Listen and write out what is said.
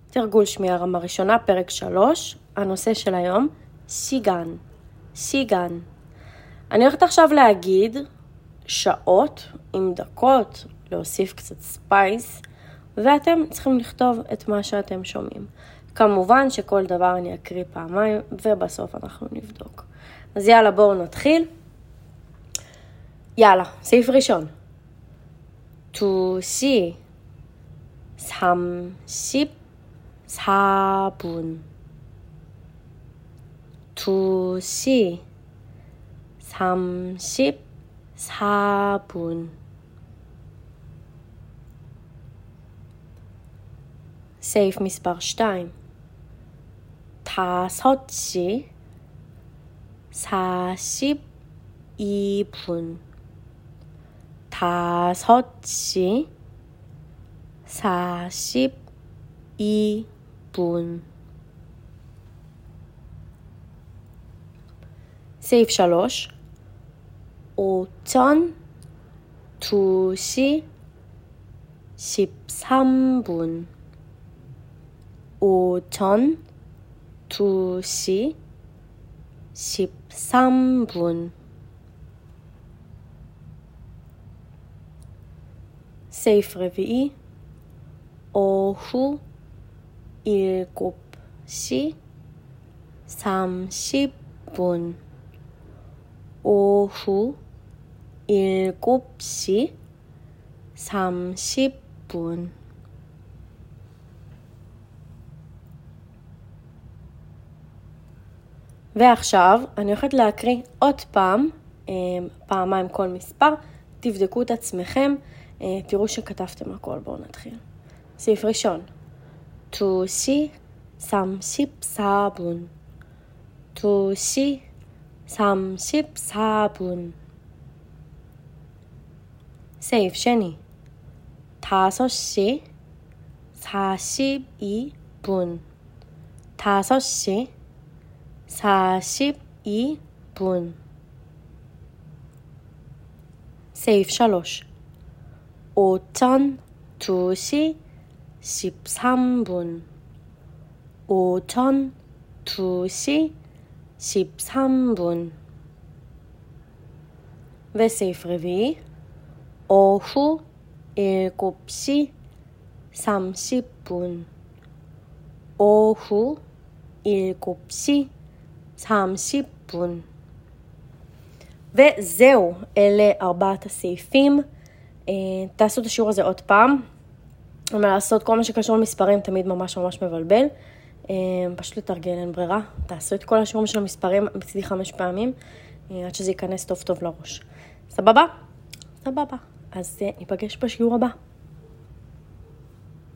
תרגול שמיעה רמה ראשונה, פרק 3, הנושא של היום, סיגן, סיגן. אני הולכת עכשיו להגיד שעות עם דקות, להוסיף קצת ספייס, ואתם צריכים לכתוב את מה שאתם שומעים. כמובן שכל דבר אני אקריא פעמיים, ובסוף אנחנו נבדוק. אז יאללה, בואו נתחיל. יאללה, סעיף ראשון. 2시 34분 2시 34분 סעיף מספר 2 5시 42분 5시 42분 סעיף 3 오전 2시 13분 오전 2시 13분 סעיף רביעי 오후 7시 30분 오후 7시 30분 ועכשיו אני הולכת להקריא עוד פעמיים כל מספר, תבדקו את עצמכם, תראו שכתבתם הכל, בואו נתחיל. סעיף ראשון, 2시 34분 2시 34분 סעיף שני, 5시 42분 5시 42분 סעיף 3 오전 2시 13분 오전 2시 13분 וסעיף רביעי 오후 7시 30분 오후 7시 30분 וזהו, אלה 4 הסעיפים. תעשו את השיעור הזה עוד פעם. לעשות כל מה שקשור למספרים תמיד ממש מבלבל. פשוט לתרגל, אין ברירה. תעשו את כל השיעורים של המספרים בצדי 5 פעמים, עד שזה ייכנס טוב לראש. סבבה? סבבה. אז ניפגש בשיעור הבא.